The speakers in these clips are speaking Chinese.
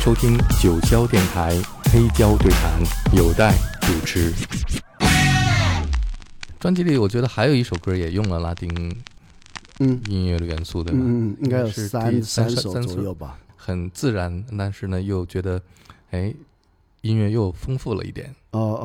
收听九霄电台黑胶对谈，有待主持。专辑里我觉得还有一首歌也用了拉丁音乐的元素，对吧？ 应该有三首左右吧， 很自然，但是呢又觉得音乐又丰富了一点。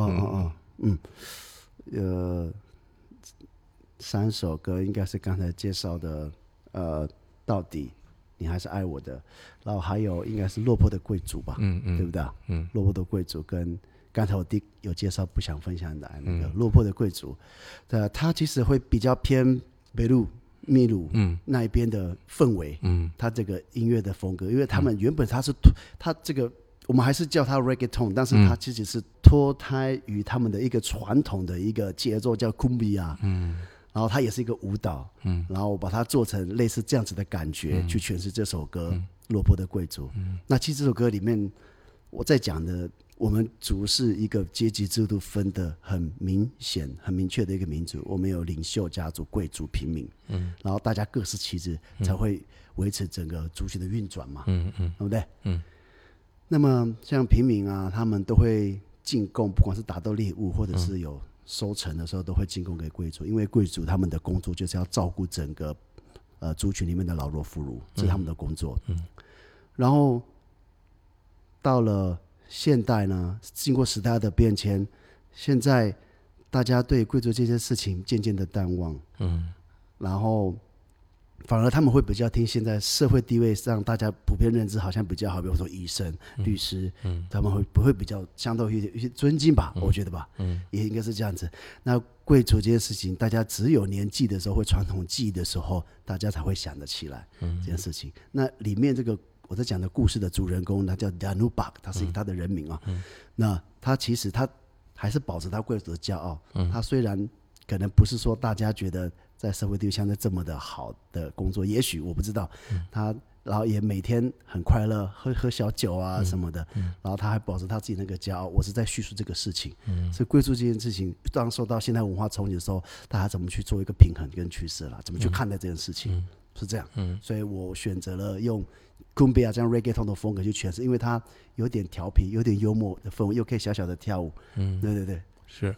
三首歌应该是刚才介绍的，到底你还是爱我的，然后还有应该是落魄的贵族吧，对不对？落魄的贵族跟刚才我有介绍不想分享的那个落魄的贵族，他其实会比较偏北路秘鲁那一边的氛围，他这个音乐的风格，因为他们原本他这个我们还是叫他 reggaeton， 但是他其实是脱胎于他们的一个传统的一个节奏叫 cumbia，然后它也是一个舞蹈，然后我把它做成类似这样子的感觉，去诠释这首歌《落魄的贵族》。那其实这首歌里面我在讲的，我们族是一个阶级制度分的很明显、很明确的一个民族，我们有领袖、家族、贵族、平民，然后大家各司其职，才会维持整个族群的运转嘛，对不对？那么像平民啊，他们都会进贡，不管是打斗猎物，或者是有收成的时候都会进贡给贵族，因为贵族他们的工作就是要照顾整个族群里面的老弱妇孺，这是他们的工作。然后到了现代呢，经过时代的变迁，现在大家对贵族这件事情渐渐的淡忘，然后反而他们会比较听现在社会地位上大家普遍认知好像比较好，比如说医生、律师，他们会比较相对有些尊敬吧，我觉得吧，也应该是这样子。那贵族这件事情，大家只有年纪的时候，会传统记忆的时候，大家才会想得起来这件事情。那里面这个我在讲的故事的主人公，他叫 Danubak， 他是他的人名啊。那他其实他还是保持他贵族的骄傲，他虽然可能不是说大家觉得在社会地位相对这么的好的工作，也许我不知道，他然后也每天很快乐，喝小酒啊什么的，然后他还保持他自己那个骄傲。我是在叙述这个事情，所以贵族这件事情，当受到现代文化冲击的时候，大家怎么去做一个平衡跟趋势啦，怎么去看待这件事情，是这样。所以我选择了用 cumbia 这样 reggaeton 的风格去诠释，因为它有点调皮，有点幽默的氛围，又可以小小的跳舞。对对对， 是。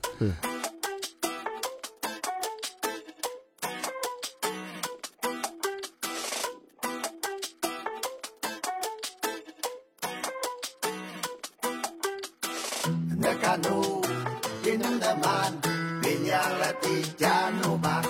Nekanu Kinundaman Pinyalati Janubak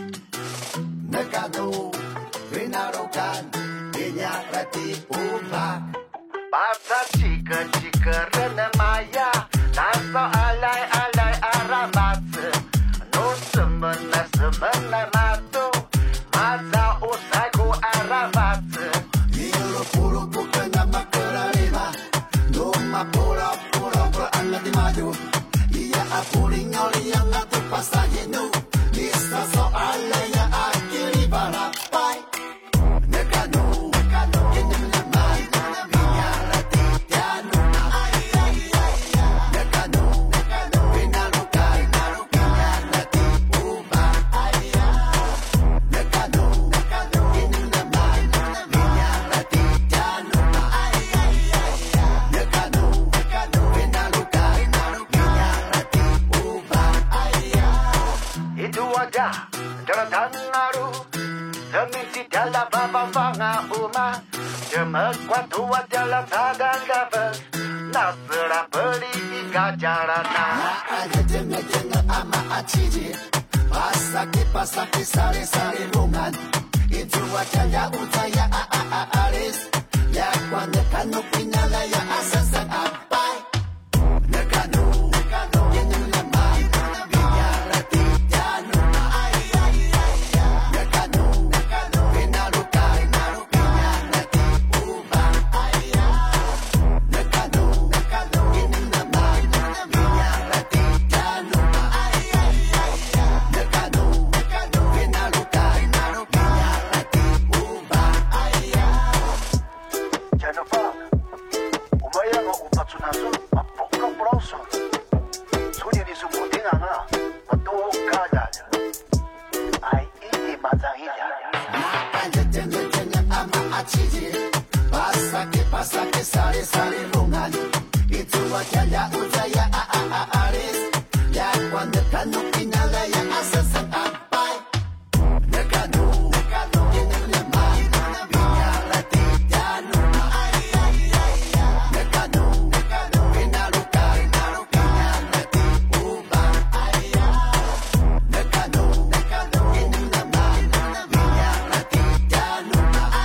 Nekanu Pinarukan Pinyalati Ubak Basa chika Renemaya Taso alay aramatse No semena matu Maza usaiku aramatse Ilo puro bukana makararima No mapura di maju ia apuling oli yang atu pasayenu bisa soalnya ya akhiri barapai nekanu kenyamanan binyalati tianu nekanu pinalukai binyalati ubah nekanu kenyamanan binyalati tianu nekanu pinalukai itu wajah daratan naru seminti dalam babang uma cemekuat tua dalam tadan gabel nasra beli gajarana ada jengah ama aciji pasaki sari bungan itu wajah ya utaya aris ya kuande kanu pinala ya asasan apai nekanu sale sale lungali Itsuwa kaya uzaya ares Ya cuando kanu inala ya asasan apai Nekanu Yenele ma Vinya lati janu Nekanu Inaluka Vinya lati uba Nekanu Yenele ma Vinya lati janu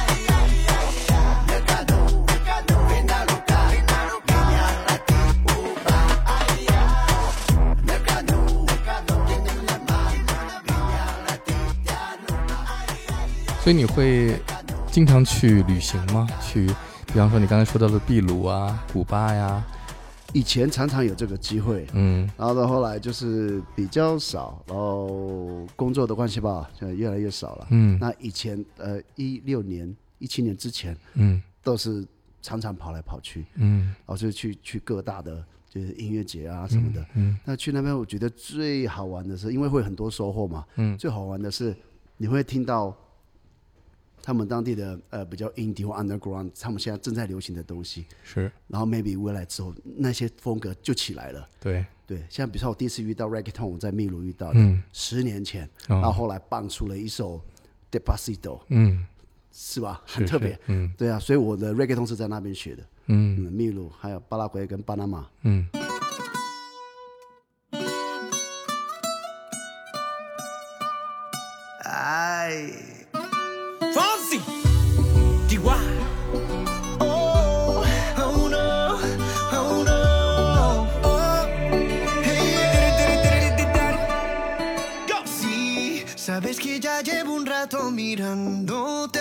Nekanu Inaluka Vinya lati uba Nekanu Yenele ma Vinya lati janu 所以你会经常去旅行吗？去，比方说你刚才说到的秘鲁啊、古巴呀。 以前常常有这个机会，然后到后来就是比较少，然后工作的关系吧，就越来越少了。那以前16年、17年之前，都是常常跑来跑去，然后就去各大的就是音乐节啊什么的。那去那边我觉得最好玩的是，因为会很多收获嘛，最好玩的是你会听到他们当地的比较 indie 或 underground， 他们现在正在流行的东西， 是， 然后 maybe 未来之后那些风格就起来了。 对， 像比如说我第一次遇到 reggaeton， 我在秘鲁遇到的，10年前，然后后来蹦出了一首 Despacito， 是吧？很特别，对啊，所以我的 reggaeton 是在那边学的，秘鲁还有巴拉圭跟巴拿马， Ay, Fonsi, Chihuahua. Oh, oh no, oh no. Oh, hey. Sí, sabes que ya llevo un rato mirándote.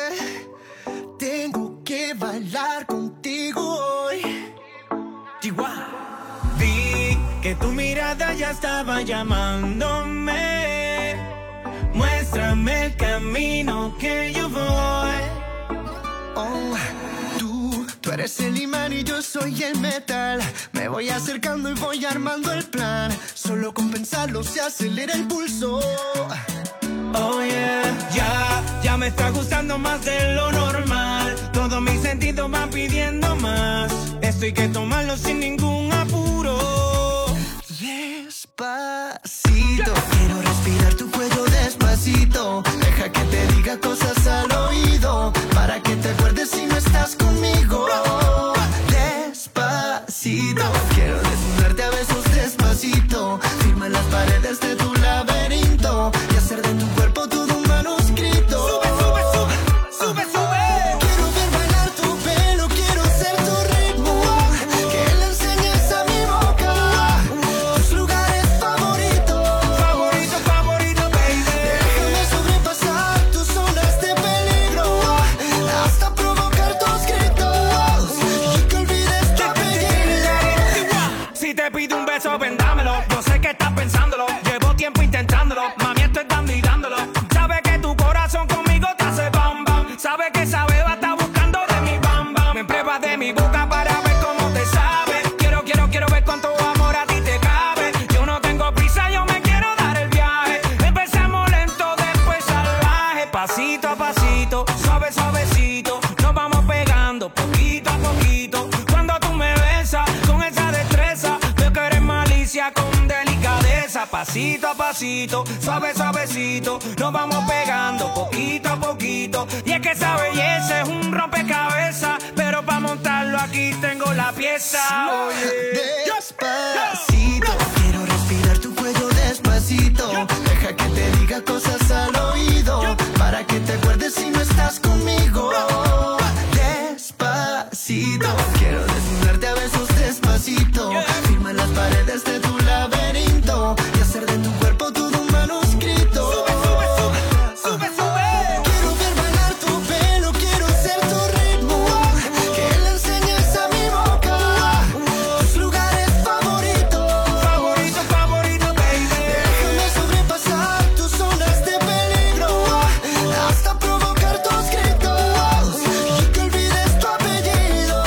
Tengo que bailar contigo hoy. Chihuahua. Vi que tu mirada ya estaba llamándome. Muéstrame el camino que yo voy. Oh, tú eres el imán y yo soy el metal. Me voy acercando y voy armando el plan. Solo con pensarlo se acelera el pulso. Oh yeah, ya me está gustando más de lo normal. Todos mis sentidos van pidiendo más. Esto hay que tomarlo sin ningún apuro. Despacito, quiero respirar tu cuello despacito. Deja que te diga cosas al oído, para que te acuerdes si no estás conmigo. Despacito, quiero desnudarte a besos despacito. Firma las paredes de tu laberinto y hacer de tu cuerpo todo un manuscrito. Sube, sube, sube, sube, sube. Quiero ver bailar tu pelo, quiero ser tu ritmo. Que le enseñes a mi boca tus lugares favoritos. Favorito, favorito, baby. Déjame sobrepasar tus zonas de peligro hasta provocar tus gritos y que olvides tu apellido. Si te pido un beso, ven dámelo. Yo sé que estás pensándolo. Llevo tiempo intentándolo. Mami, estoy dando y dándolo. Sabe que tu corazón conmigo te hace bam bam. Sabe que esa beba está buscando de mi bam bam. Me pruebas de mi boca para ver cómo te sabe. Quiero ver cuánto amor a ti te cabe. Yo no tengo prisa, yo me quiero dar el viaje. Empezamos lento, después salvaje. Pasito a pasito, suave, suavecito. Nos vamos pegando poquito a poquito. Cuando tú me besas con esa destreza, veo que eres malicia con delicadeza. Pasito a pasito, suave, suavecito. Nos vamos pegando poquito a poquito. Y es que esa belleza es un rompecabezas, pero para montarlo aquí tengo la pieza. Oye. Despacito, quiero respirar tu cuello despacito. Deja que te diga cosas al oído, para que te acuerdes si no estás conmigo. Despacito, quiero desnudarte a besos despacito. Firma las paredes de tu laberinto y hacer de tu cuerpo todo un manuscrito. Sube, sube, sube, sube. Quiero ver bailar tu pelo, quiero ser tu ritmo. Que le enseñes a mi boca tus lugares favoritos. Favorito, favorito, baby. Déjame sobrepasar tus zonas de peligro hasta provocar tus gritos y que olvides tu apellido.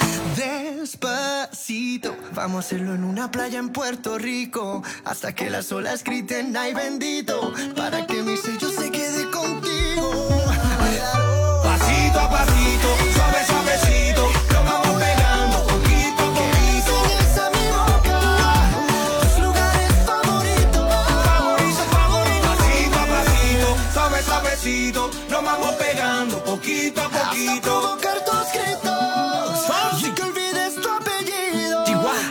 Despacito, vamos a hacerlo en una playa en Puerto Rico, hasta que las olas griten ay bendito, para que mi sello se quede contigo. Pasito a pasito, suave, suavecito, nos vamos suavecito, nos vamos pegando poquito a poquito. Hasta provocar tus gritos, y que olvides tu apellido.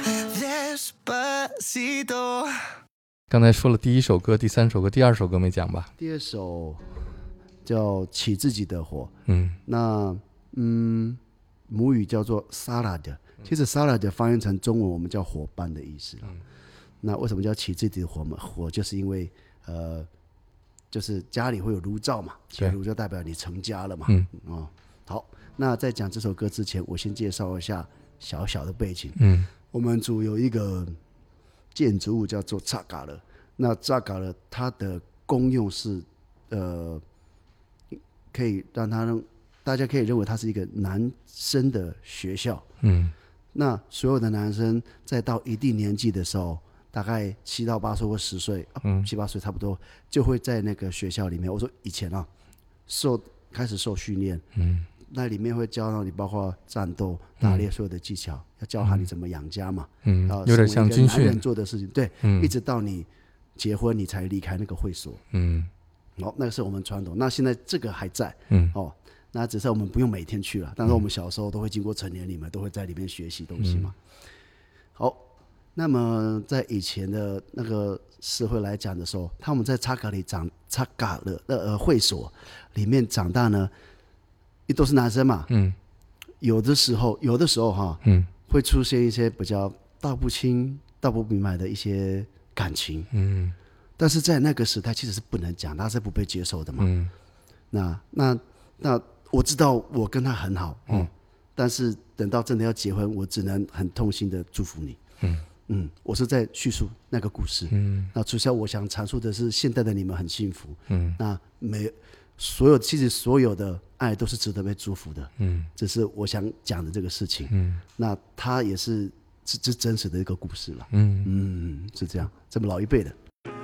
Despacito。 刚才说了第一首歌、第三首歌、第二首歌没讲吧？ 第二首叫《起自己的火》，那母语叫做 salad， 其实 salad 翻译成中文我们叫伙伴的意思。那为什么叫起自己的火嘛？火就是因为就是家里会有炉灶嘛，起炉就代表你成家了嘛。好，那在讲这首歌之前，我先介绍一下小小的背景。我们组有一个建筑物叫做扎嘎勒，那扎嘎勒它的功用是可以让大家可以认为它是一个男生的学校。那所有的男生在到一定年纪的时候，大概7到8岁或10岁，7、8岁差不多，就会在那个学校里面。我说以前开始受训练，那里面会教到你包括战斗、打猎所有的技巧，要教他你怎么养家嘛， 有点像军训男人做的事情，对，一直到你结婚你才离开那个会所。那个是我们传统。那现在这个还在，那只是我们不用每天去了，但是我们小时候都会经过成年礼嘛，都会在里面学习东西嘛。好，那么在以前的那个社会来讲的时候，他们在扎嘎勒会所里面长大呢，都是男生嘛，有的时候哈，会出现一些比较道不清、道不明白的一些感情，但是在那个时代其实是不能讲，他是不被接受的嘛。那我知道我跟他很好，但是等到真的要结婚，我只能很痛心的祝福你。我是在叙述那个故事。那主要我想阐述的是，现在的你们很幸福。那其实所有的爱都是值得被祝福的。这是我想讲的这个事情。那它也是真实的一个故事了。是这样，这么老一辈的。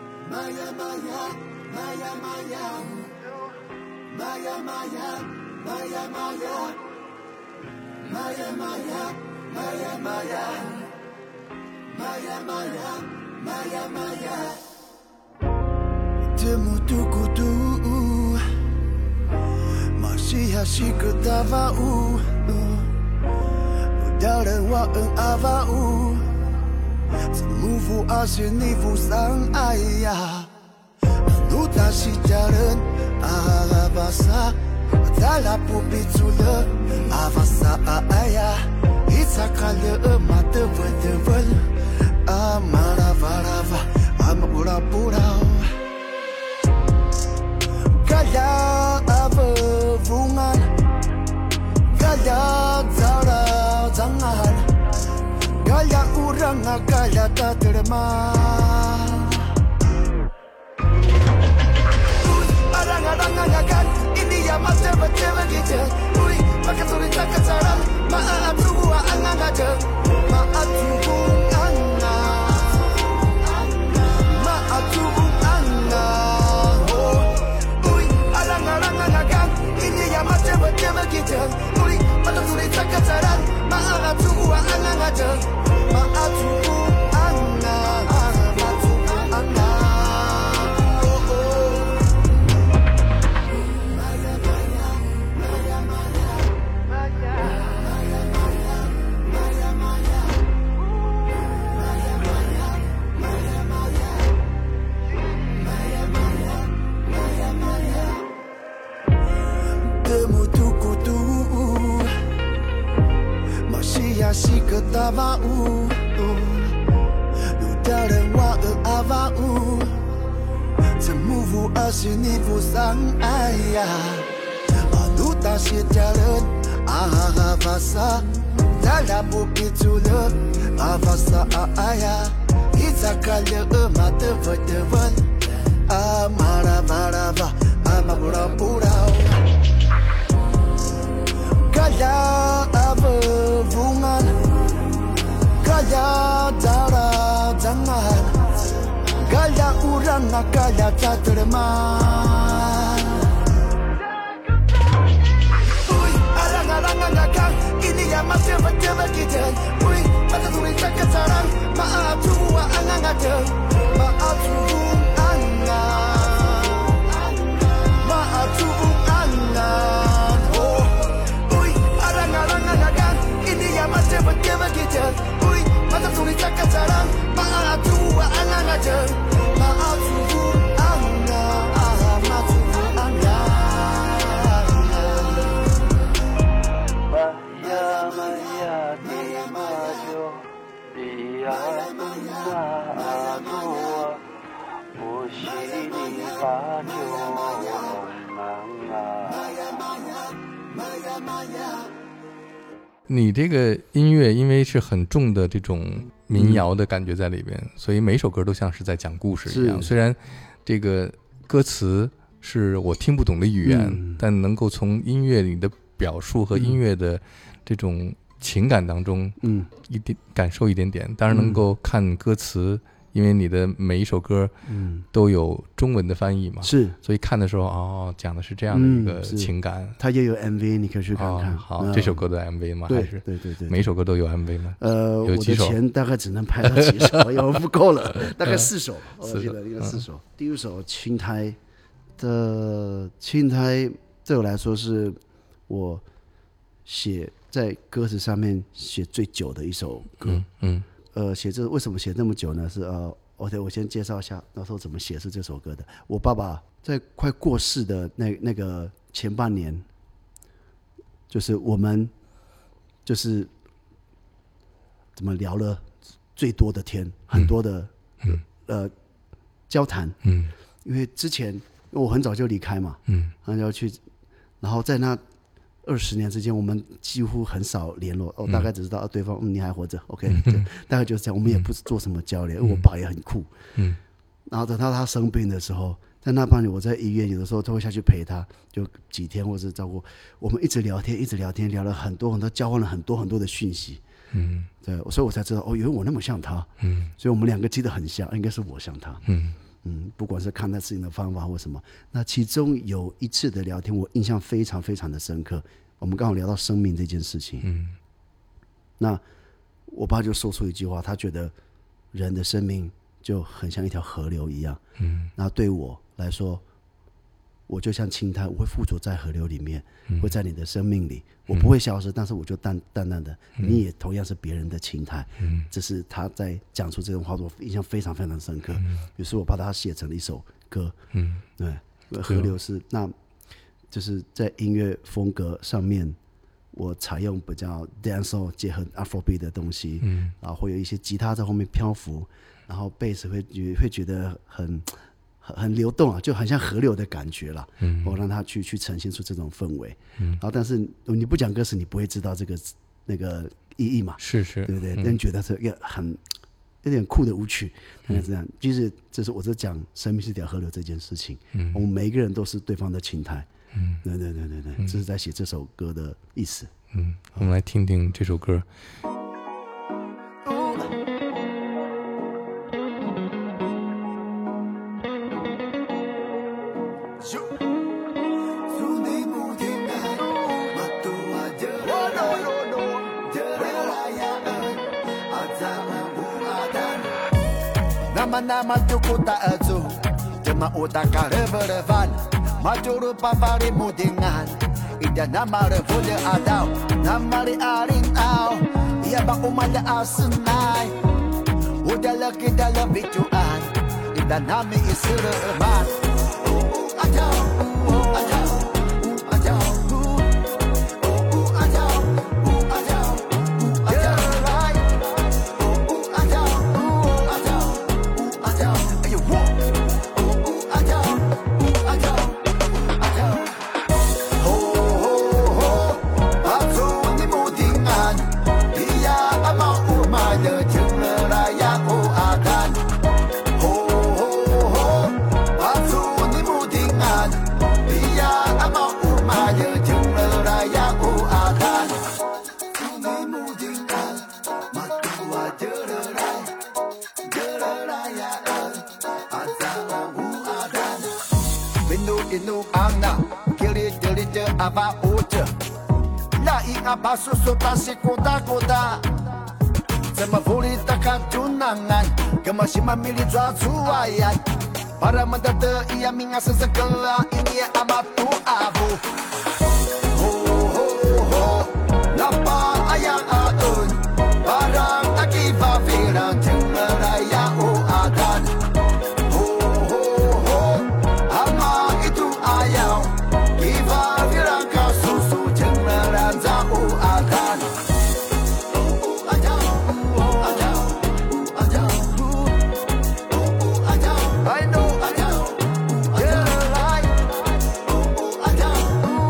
Temu tukutu masih asyik ketawau Udara waan avau Semuvu asinivu sang ayah Anu tasi jalan avasa Tala pupitula avasa ayah Isakala mata vertevel Amaravarava amapura-purau Gaya avevungan Gaya zarau jangan Gaya urang gaya tak terima Arang-arang-arang ini ya macam-macam gitu Ui, maka sulit tak kecaran Maaf tubuh angang aja Maaf tubuh Maaf tubuh Ui, arang-arang-arang ini ya macam-macam gitu Ui, maka sulit tak kecaran Maaf tubuh angang aja Maaf tubuh si ketawau Udara wa avau Semuvu asinivu sang ayah Anu tasir jalan avasa Tala pupitula avasa ayah Isakala mata vertevel Amaravarava amapura-purau Gaya avevungan Gaya darah jangan Gaya urang gaya tak terima Ui, arang-arang-arang ini yang masih betul kita Ui, maka sulit tak kecaran Maaf tubuh angang ada Maaf tubuh angang Maaf 你这个音乐因为是很重的这种民谣的感觉在里边，所以每首歌都像是在讲故事一样。虽然这个歌词是我听不懂的语言，但能够从音乐里的表述和音乐的这种情感当中，一点感受一点点。当然能够看歌词，因为你的每一首歌，都有中文的翻译嘛，是，所以看的时候，讲的是这样的一个情感。 它也有 MV， 你可以去看看。 好，这首歌的 MV 吗？还是对， 每一首歌都有 MV 吗？ 有几首？我的钱大概只能拍到几首，因为不够了，大概4首，我记得应该4首。第一首青苔的青苔，对我来说是我写在歌词上面写最久的一首歌。写这为什么写那么久呢？是我先介绍一下那时候怎么写是这首歌的。我爸爸在快过世的那个前半年，就是我们就是怎么聊了最多的天，很多的交谈。因为之前我很早就离开嘛，然后要去，然后在那20年之间，我们几乎很少联络。大概只知道对方你还活着 ，OK， 大概就是这样。我们也不做什么交流，因为我爸也很酷。然后等到他生病的时候，在那半年我在医院，有的时候都会下去陪他，就几天或是照顾。我们一直聊天，聊了很多很多，交换了很多很多的讯息。对，所以我才知道原来我那么像他。所以我们2个记得很像，应该是我像他。不管是看待事情的方法或什么，那其中有一次的聊天，我印象非常非常的深刻。我们刚好聊到生命这件事情，那我爸就说出一句话，他觉得人的生命就很像一条河流一样，那对我来说，我就像青苔，我会附着在河流里面，会在你的生命里，我不会消失，但是我就淡淡的，你也同样是别人的青苔。这是他在讲出这种话，我印象非常非常深刻。于是我把它写成了一首歌。对，河流是那，就是在音乐风格上面，我采用比较 dancehall 结合 Afrobeat 的东西，然后会有一些吉他在后面漂浮，然后贝斯会觉得很流动啊，就很像河流的感觉啦。我让他去呈现出这种氛围。然后但是你不讲歌词，你不会知道这个那个意义嘛？是，对不对？但觉得是一个有点酷的舞曲，大概这样。其实这是我在讲生命是条河流这件事情。我们每一个人都是对方的青苔。对，这是在写这首歌的意思。 我们来听听这首歌。 Nama tuku ta'azu Jema utaka reberevan Majuru papari mudingan Ida nama revude adau Nama li arin au Ia ba umaya asenai Udah lagi dalam bicuan Ida nami isire eman Adau Adau Adau Apa uja Lai apa susu tasik koda-koda Sama voli takat tunangan Kemasih memilih jual suayan Para mendata ia mengasa segala Ini amat tuabu Ho ho ho Lapa ayang aun Barang akibat firang Tengah raya uadan Ho ho ho Ama itu ayau Kiva firang kasusu Cengeran zau akan I know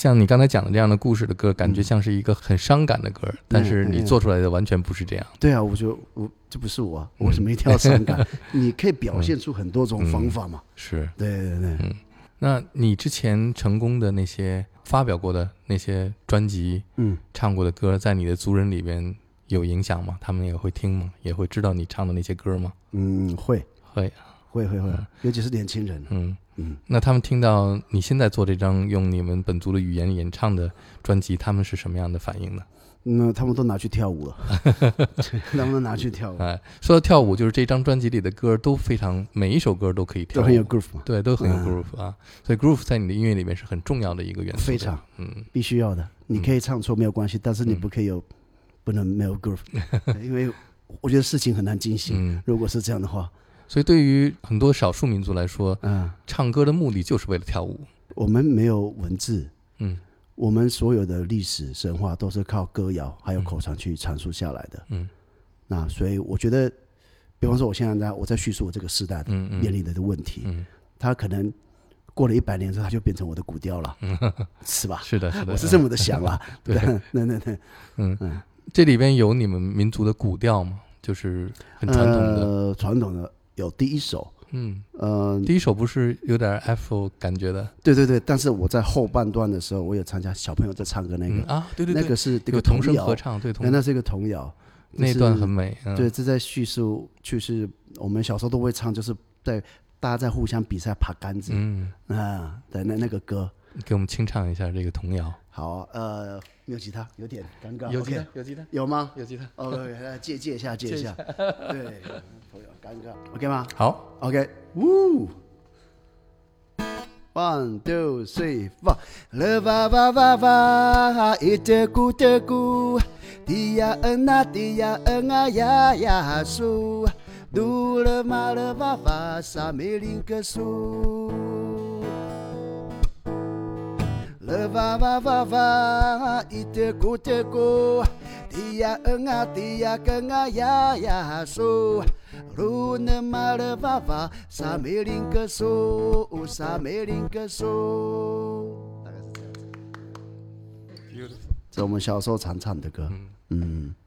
像你刚才讲的这样的故事的歌，感觉像是一个很伤感的歌，但是你做出来的完全不是这样。 对啊，我这不是我为什么一定要伤感？你可以表现出很多种方法嘛。 是， 对。 那你之前成功的那些发表过的那些专辑，唱过的歌，在你的族人里边有影响吗？他们也会听吗？也会知道你唱的那些歌吗？ 会，尤其是年轻人。 那他们听到你现在做这张用你们本族的语言演唱的专辑，他们是什么样的反应呢？ 那他们都拿去跳舞了，他们都拿去跳舞。 说到跳舞，就是这张专辑里的歌都非常，每一首歌都可以跳舞， 都很有 groove 嘛。 对，都很有 groove 啊。所以 groove 在你的音乐里面是很重要的一个元素， 非常，必须要的。你可以唱错没有关系，但是你不能没有 groove，因为我觉得事情很难进行。如果是这样的话。 所以对于很多少数民族来说，唱歌的目的就是为了跳舞。 我们没有文字，我们所有的历史神话都是靠歌谣还有口传去阐述下来的。那所以我觉得，比方说我现在我在叙述我这个时代的面临的问题，他可能过了100年之后，他就变成我的古调了，是吧？ 是的， 我是这么的想啦。对， 这里边有你们民族的古调吗？就是很传统的， 传统的。有第一首， 第一首不是有点 Afro 感觉的？ 对，但是我在后半段的时候，我有参加小朋友在唱歌那个对， 那个是这个童声合唱，对， 那是一个童谣， 那段很美。 对，这在叙述，就是我们小时候都会唱，就是大家在互相比赛爬杆子，对，那个歌， 给我们清唱一下这个童谣。 好，没有吉他，有点尴尬。 有吉他，有吉他， 有吗？ 有吉他。 来借一下。对，尴尬 ，OK 吗？ 好 ，OK，呜 ，1 2 3 4， le va va va va， iteku teku， dia ena ya ya su， du le ma le va va sa me link su。Le va va va va, iteku teku, dia enga kenga ya so, rune ma le va va, sa me link so, sa me link so。大概是这样子。这我们小时候常唱的歌。